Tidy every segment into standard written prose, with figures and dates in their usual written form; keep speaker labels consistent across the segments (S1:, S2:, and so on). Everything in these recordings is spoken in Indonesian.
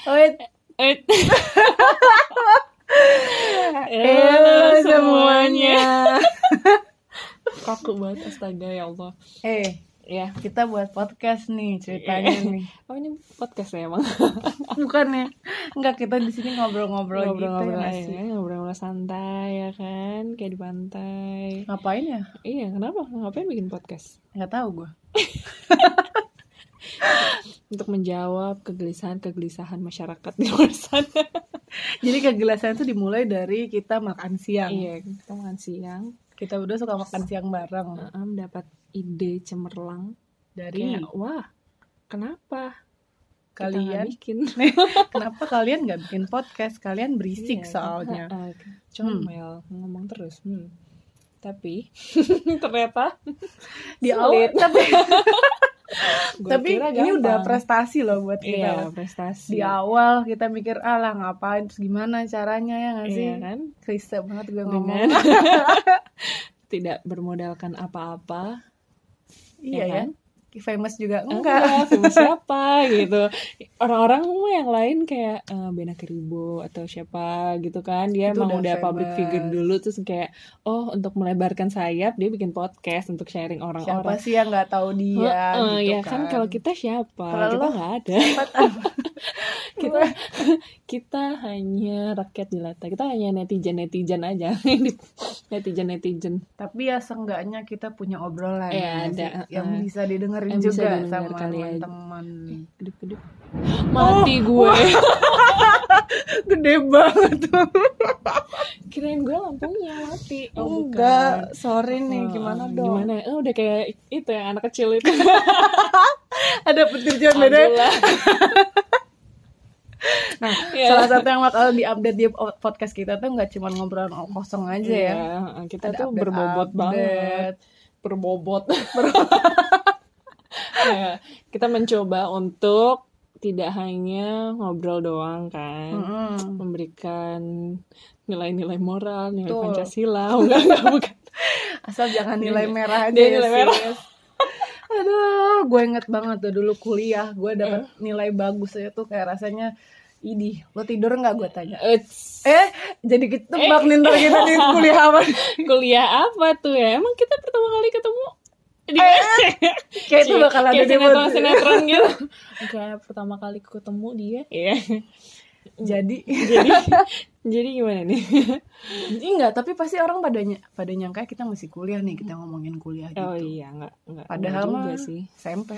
S1: Wait.
S2: Semuanya. Kaku banget, astaga ya Allah.
S1: Ya, kita buat podcast nih ceritanya nih.
S2: Oh, ini podcast ya emang?
S1: Bukan ya? Enggak, kita di sini ngobrol-ngobrol gitu
S2: ya, ngobrol-ngobrol santai ya kan, kayak di pantai.
S1: Ngapain ya?
S2: Iya, kenapa? Ngapain bikin podcast?
S1: Nggak tahu gue.
S2: Untuk menjawab kegelisahan masyarakat di luar sana.
S1: Jadi kegelisahan itu dimulai dari kita makan siang.
S2: Iya, kita makan siang.
S1: Kita berdua suka makan siang bareng.
S2: Dapat ide cemerlang
S1: dari
S2: kayak, wah, kenapa
S1: kalian
S2: bikin?
S1: Kenapa kalian nggak bikin podcast? Kalian berisik soalnya.
S2: Comel ngomong terus. Tapi ternyata
S1: di awal tapi ini udah prestasi loh buat kita.
S2: Iya, prestasi.
S1: Di awal kita mikir lah ngapain, terus gimana caranya ya nggak sih?
S2: Iya kan?
S1: Klise banget gue ngomong.
S2: Tidak bermodalkan apa-apa.
S1: Iya ya. Kan? Famous juga
S2: enggak. Famous siapa gitu. Orang-orang yang lain kayak Bena Keribo atau siapa gitu kan. Dia emang udah public figure dulu, terus kayak untuk melebarkan sayap dia bikin podcast untuk sharing orang-orang.
S1: Siapa sih yang nggak tahu dia gitu
S2: ya kan. Kalau kita siapa? Kita nggak ada. kita hanya rakyat jelata. Kita hanya netizen aja. netizen.
S1: Tapi ya seenggaknya kita punya obrolan yang bisa didengar
S2: juga
S1: sama teman-teman.
S2: Kedip. Mati gue.
S1: Gede banget.
S2: Kirain gue lampunya mati.
S1: Enggak, sorry nih, gimana dong?
S2: Gimana? Udah kayak itu ya, anak kecil itu.
S1: Ada petir jauh beda. Nah, salah satu yang bakal diupdate di podcast kita tuh nggak cuma ngobrol kosong aja ya.
S2: Kita tuh berbobot banget. Berbobot. Kita mencoba untuk tidak hanya ngobrol doang kan, memberikan nilai-nilai moral, nilai Pancasila, bukan.
S1: Asal jangan nilai merah aja. Nilai merah. Aduh, gue inget banget tuh dulu kuliah, gue dapet nilai bagus aja tuh kayak rasanya, idih, lo tidur nggak gue tanya. Jadi kita tebak nih ntar kita di kuliah apa?
S2: Kuliah apa tuh ya? Emang kita pertama kali ketemu?
S1: Kayak itu bakal ada di
S2: sinetron gitu. Kayak pertama kali ketemu dia. Iya. Jadi gimana nih?
S1: Enggak, tapi pasti orang pada nyangka kita masih kuliah nih, kita ngomongin kuliah gitu.
S2: Oh iya, enggak.
S1: Padahal
S2: juga sih.
S1: SMP.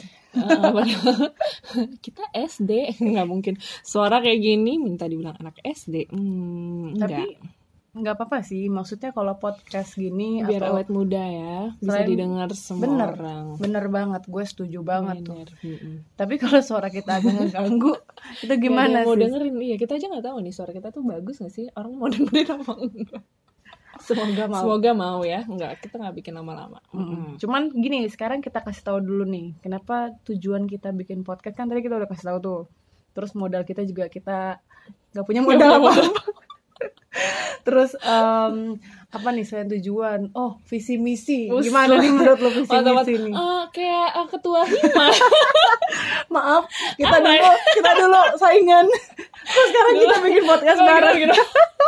S2: Kita SD, enggak mungkin. Suara kayak gini minta dibilang anak SD.
S1: Tapi nggak apa-apa sih, maksudnya kalau podcast gini
S2: biar awet muda ya, bisa didengar semua orang.
S1: Bener banget, gue setuju banget tuh. Tapi kalau suara kita agak ngeganggu, itu gimana sih?
S2: Mau dengerin, iya kita aja nggak tahu nih suara kita tuh bagus nggak sih, orang mau dengerin apa enggak? Semoga mau ya, enggak, kita nggak bikin lama-lama.
S1: Cuman gini, sekarang kita kasih tahu dulu nih, kenapa tujuan kita bikin podcast, kan tadi kita udah kasih tahu tuh. Terus modal kita juga kita nggak punya modal apa-apa. Terus apa nih selain tujuan? Visi misi. Gimana nih menurut lo visi misi nih?
S2: Kayak ketua hima.
S1: Maaf, kita dulu saingan. Terus sekarang kita bikin podcast bareng gitu.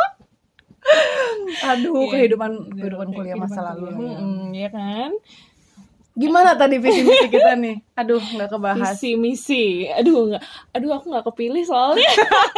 S1: Aduh, kehidupan kuliah masa lalu.
S2: Iya kan?
S1: Gimana tadi visi misi kita nih? Aduh, nggak kebahas.
S2: Visi misi. Aduh aku nggak kepilih soalnya.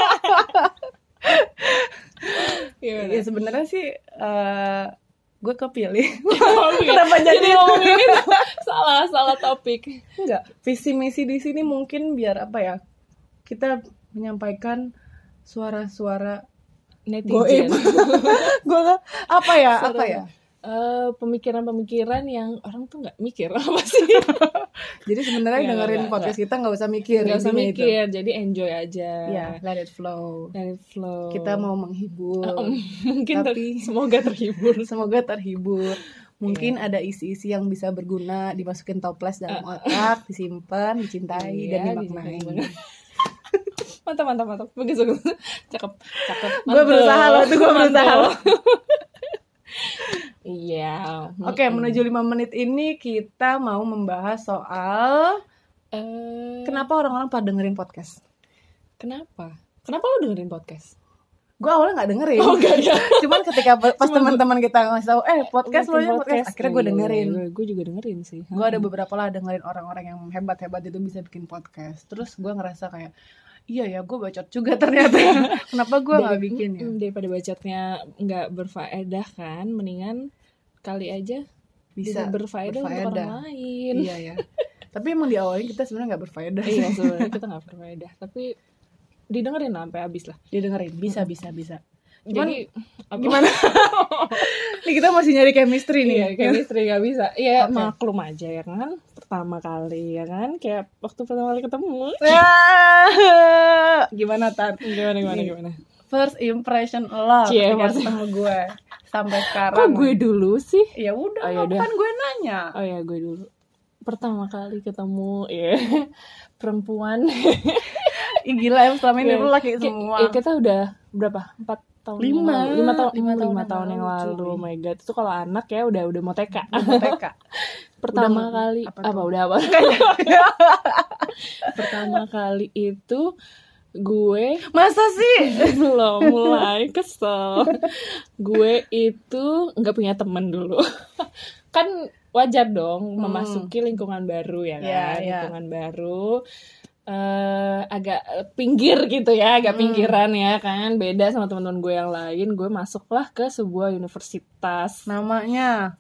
S1: Ya sebenarnya sih gue kepilih.
S2: Kenapa jadi ngomongin itu? Salah topik.
S1: Enggak, visi misi di sini mungkin biar apa ya? Kita menyampaikan suara-suara
S2: netizen.
S1: Gue apa ya?
S2: Pemikiran yang orang tuh nggak mikir apa sih.
S1: Jadi sebenarnya dengerin podcast kita nggak usah mikir.
S2: Jadi enjoy aja.
S1: Ya, let it flow. Kita mau menghibur.
S2: Mungkin tapi semoga terhibur.
S1: Mungkin ada isi-isi yang bisa berguna, dimasukin toples dalam otak, disimpan, dicintai, dan dimaknai.
S2: Mantap. Bagus. Cakep.
S1: Gue berusaha loh.
S2: Iya.
S1: Oke, menuju 5 menit ini kita mau membahas soal kenapa orang-orang pada dengerin podcast.
S2: Kenapa? Kenapa lo dengerin podcast?
S1: Gue awalnya nggak dengerin.
S2: Oh enggak ya.
S1: Cuman ketika pas teman-teman kita ngasih tahu podcast lo ya podcast, akhirnya gue dengerin.
S2: Gue juga dengerin sih.
S1: Gue ada beberapa lah dengerin orang-orang yang hebat-hebat itu bisa bikin podcast. Terus gue ngerasa kayak iya ya, gue bacot juga ternyata. Kenapa gue nggak bikin ya?
S2: Daripada bacotnya nggak berfaedah kan, mendingan kali aja bisa berfaedah untuk orang lain.
S1: Iya ya. Tapi emang di awalnya kita sebenarnya nggak berfaedah.
S2: Iya sebenarnya kita nggak berfaedah, tapi didengerin lah sampai habis lah.
S1: Didengerin bisa. Cuman,
S2: jadi
S1: gimana? Nih kita masih nyari chemistry nih.
S2: Iya, chemistry gak bisa. Iya, maklum aja ya kan. Pertama kali ya kan, kayak waktu pertama kali ketemu.
S1: Gimana Tan?
S2: Gimana?
S1: First impression lo ketika ketemu gue sampai sekarang.
S2: Kok gue dulu sih?
S1: Ya udah, kan gue nanya.
S2: Oh ya, gue dulu. Pertama kali ketemu perempuan.
S1: Gila ya, selama ini lu laki semua.
S2: Kita udah berapa? 4 tahun 5 tahun yang lalu. Oh my god, itu kalau anak ya udah mau TK. Pertama kali apa? Pertama kali itu gue
S1: masa sih
S2: belum mulai kesel. Gue itu nggak punya temen dulu. Kan wajar dong memasuki lingkungan baru ya kan, lingkungan baru. Agak pinggir gitu ya, agak pinggiran ya kan, beda sama teman-teman gue yang lain. Gue masuklah ke sebuah universitas,
S1: namanya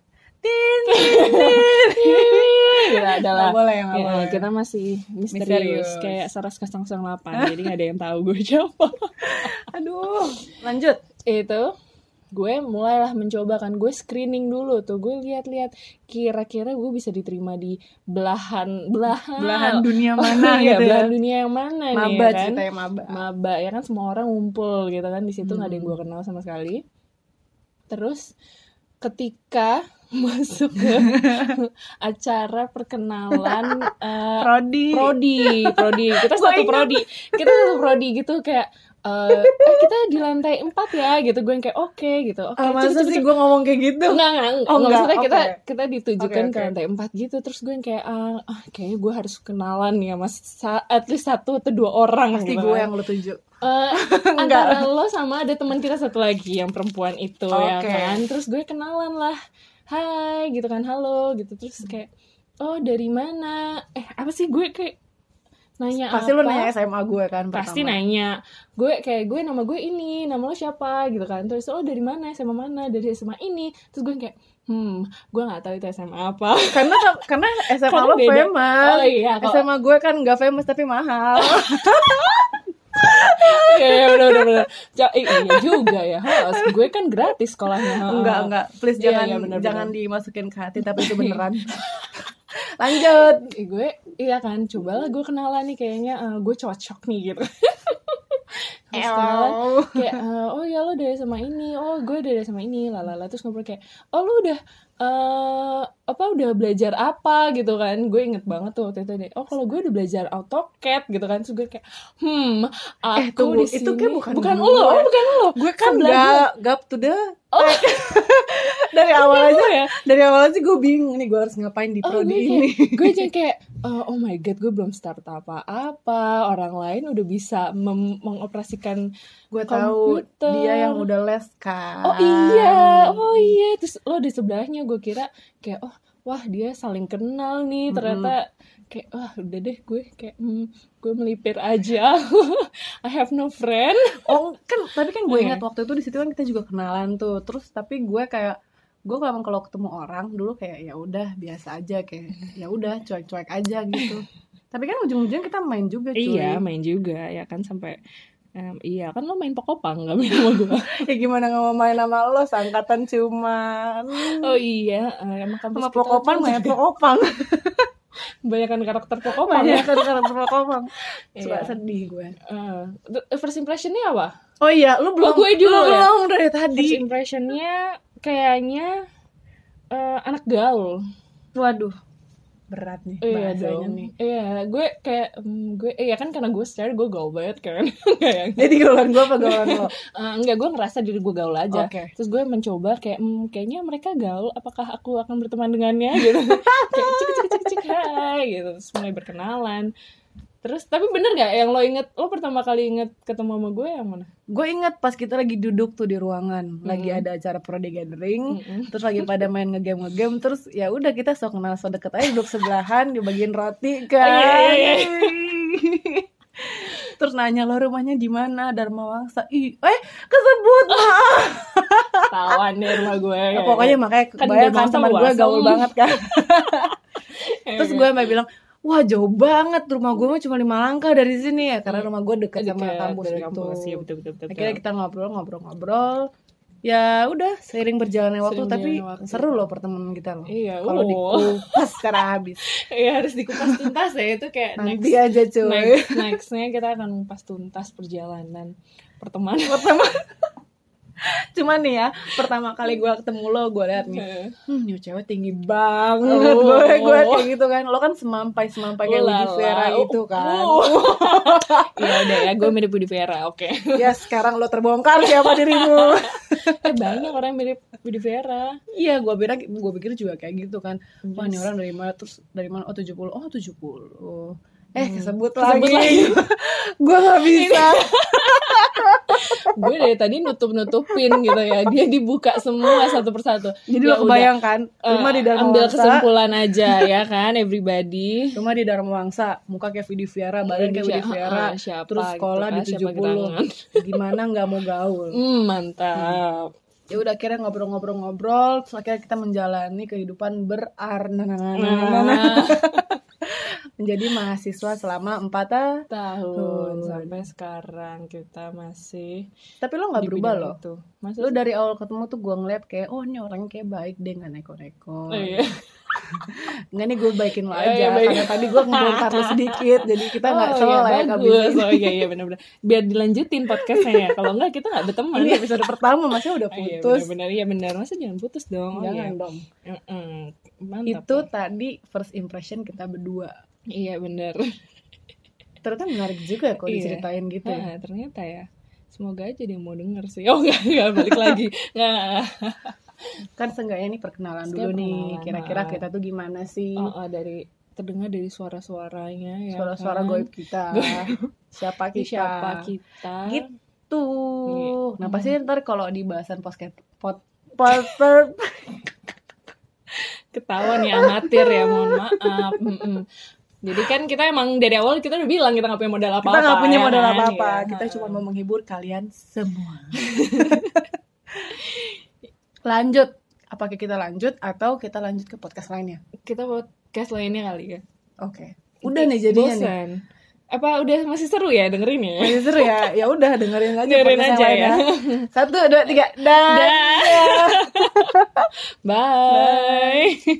S2: adalah
S1: boleh.
S2: Kita masih misterius. Kayak Saras 008, jadi nggak ada yang tahu gue siapa.
S1: Aduh, lanjut.
S2: Itu gue mulailah mencoba kan, gue screening dulu tuh, gue lihat-lihat kira-kira gue bisa diterima di belahan
S1: dunia mana gitu
S2: belahan dunia yang mana nih
S1: ya
S2: kan,
S1: maba
S2: ya kan, semua orang ngumpul gitu kan di situ, nggak ada yang gue kenal sama sekali. Terus ketika masuk ke acara perkenalan prodi kita satu prodi gitu, kayak kita di lantai 4 ya gitu. Gue yang kayak oke gitu.
S1: Masa sih gue ngomong kayak gitu?
S2: Enggak. Maksudnya kita ditujukan ke lantai 4 gitu. Terus gue yang kayak kayaknya gue harus kenalan ya mas, at least 1 atau 2 orang.
S1: Pasti
S2: gitu
S1: gue
S2: kan.
S1: yang lo tunjuk.
S2: Antara lo sama ada teman kita satu lagi yang perempuan itu ya kan. Terus gue kenalan lah, hai gitu kan, halo gitu. Terus kayak dari mana? Apa sih, gue kayak nanya
S1: pasti
S2: apa?
S1: Lu nanya SMA gue kan pertama.
S2: Pasti nanya. Gue nama gue ini, nama lo siapa gitu kan. Terus dari mana, SMA mana, dari SMA ini. Terus gue kayak gue nggak tahu itu SMA apa.
S1: karena SMA lo famous.
S2: Oh iya,
S1: SMA gue kan nggak famous tapi mahal.
S2: Ya udah. Iya juga ya. Gue kan gratis sekolahnya.
S1: Enggak. Please jangan dimasukin ke hati, tapi itu beneran. Lanjut.
S2: Gue kan, cobalah gue kenalan nih, kayaknya gue cocok nih gitu. Terus kenalan kayak oh ya lo dari sama ini, oh gue dari sama ini, lalala. Terus ngobrol kayak lu udah udah belajar apa gitu kan. Gue inget banget tuh waktu itu deh, kalau gue udah belajar AutoCAD gitu kan. Terus gue kayak aku di sini itu kayak bukan lo.
S1: Gue kan gap to the dari awal aja gue bingung nih gue harus ngapain di prodi ini.
S2: Gue jadi kayak oh my god, gue belum start apa-apa, orang lain udah bisa mengoperasikan.
S1: Gue tahu dia yang udah les kan.
S2: Oh iya. Terus lo di sebelahnya, gue kira kayak wah dia saling kenal nih. Ternyata kayak udah deh, gue kayak gue melipir aja. I have no friend.
S1: Tapi kan gue ingat waktu itu di situ kan kita juga kenalan tuh. Terus tapi gue memang kalau ketemu orang dulu kayak ya udah biasa aja, kayak ya udah cuek-cuek aja gitu. Tapi kan ujung-ujungnya kita main juga cuy.
S2: Iya, main juga ya kan, sampai iya kan lo main Pokopang gak main sama gue.
S1: Ya gimana gak mau main sama lo, seangkatan cuman.
S2: Oh iya, emang kampus
S1: sama Pokopang main Pokopang.
S2: Banyakan karakter Pokopang.
S1: Suka sedih gue.
S2: First impressionnya apa?
S1: Oh iya, lu belum.
S2: Gue dulu ya.
S1: Belum dari tadi.
S2: First impressionnya kayaknya anak gaul.
S1: Waduh, berat nih bahasanya nih.
S2: Iya, gue kayak kan karena gue secara gue gaul banget kan.
S1: Jadi gaulan gue apa gaulan lo?
S2: Enggak, gue ngerasa diri gue gaul aja.
S1: Okay.
S2: Terus gue mencoba kayak kayaknya mereka gaul, apakah aku akan berteman dengannya gitu. Kayak cik hai gitu. Terus mulai berkenalan. Terus tapi bener gak yang lo inget, lo pertama kali inget ketemu sama gue yang mana?
S1: Gue inget pas kita lagi duduk tuh di ruangan, lagi ada acara Prodi Gathering, terus lagi pada main ngegame, terus ya udah kita sok kenal, sok deket aja, duduk sebelahan, dibagiin roti kan. Terus nanya lo rumahnya di mana, Dharma Wangsa. Kesebut maaf.
S2: Tawan deh rumah gue.
S1: Ya, pokoknya makanya kebayang kan teman gue gaul banget kan. Terus gue sampai bilang, wah jauh banget, rumah gue mah cuma 5 langkah dari sini ya, karena rumah gue dekat sama kampus gitu.
S2: Ya, betul.
S1: Akhirnya kita ngobrol. Ya udah seiring berjalannya waktu, tapi seru loh pertemanan kita loh.
S2: Iya,
S1: kalau dikupas secara habis.
S2: Iya, harus dikupas tuntas ya, itu kayak
S1: nanti aja cuy.
S2: Nextnya kita akan mengupas tuntas perjalanan pertemanan.
S1: Cuman nih ya, pertama kali gue ketemu lo, gue liat nih, nih cewek tinggi banget, gue kayak gitu kan. Lo kan semampai kayak Widi Vera itu kan.
S2: Iya udah ya, gue mirip Widi Vera, oke.
S1: Ya sekarang lo terbongkar siapa dirimu.
S2: Banyak orang mirip Widi Vera.
S1: Iya, gue pikir juga kayak gitu kan. Wah ini orang dari mana, terus dari mana, 70. Kesebut lagi. Gue gak bisa.
S2: Gue dari tadi nutupin gitu ya, dia dibuka semua satu persatu.
S1: Jadi ya lo kebayangkan rumah di Dharma
S2: ambil
S1: Wangsa,
S2: kesimpulan aja ya kan everybody.
S1: Rumah di Dharma Wangsa, muka kayak Widi Vera, badan kayak Widi Vera, terus sekolah gitu, di 70. Gimana nggak mau gaul.
S2: Mantap.
S1: Ya udah akhirnya ngobrol, terus akhirnya kita menjalani kehidupan menjadi mahasiswa selama 4
S2: tahun sampai sekarang kita masih.
S1: Tapi lo nggak berubah loh. Lo dari awal ketemu tuh gue ngeliat kayak, oh ini orangnya kayak baik deh, nggak neko-neko. Nggak nih, gue baikin lo aja karena tadi gue ngebongkar lo sedikit, jadi kita nggak salah ya
S2: bagus. Iya benar-benar. Biar dilanjutin podcastnya ya. Kalau nggak kita nggak berteman.
S1: Ini episode pertama masnya udah putus.
S2: Iya benar. Masa jangan putus dong.
S1: Jangan dong.
S2: Mantap.
S1: Itu tadi first impression kita berdua.
S2: Iya benar.
S1: Ternyata menarik juga kok diceritain gitu.
S2: Ternyata ya. Semoga aja dia mau denger sih. Oh enggak balik lagi. Enggak.
S1: Kan seenggaknya nih perkenalan dulu nih. Kira-kira kita tuh gimana sih?
S2: Dari terdengar dari suara-suaranya ya.
S1: Suara-suara goib kita. Siapa kita? Gitu. Nah pasti ntar kalau di bahasan
S2: ketahuan ya amatir ya, mohon maaf. Jadi kan kita emang dari awal kita udah bilang kita gak punya modal apa-apa.
S1: Kita gak punya modal apa-apa. Kita cuma mau menghibur kalian semua. Lanjut. Apakah kita lanjut atau kita lanjut ke podcast lainnya?
S2: Kita podcast lainnya kali ya.
S1: Oke. Udah nih jadinya nih.
S2: Apa udah masih seru ya dengerin ya?
S1: Masih seru ya. Ya udah dengerin aja.
S2: Dengerin aja ya.
S1: 1, 2, 3. Dah.
S2: Bye.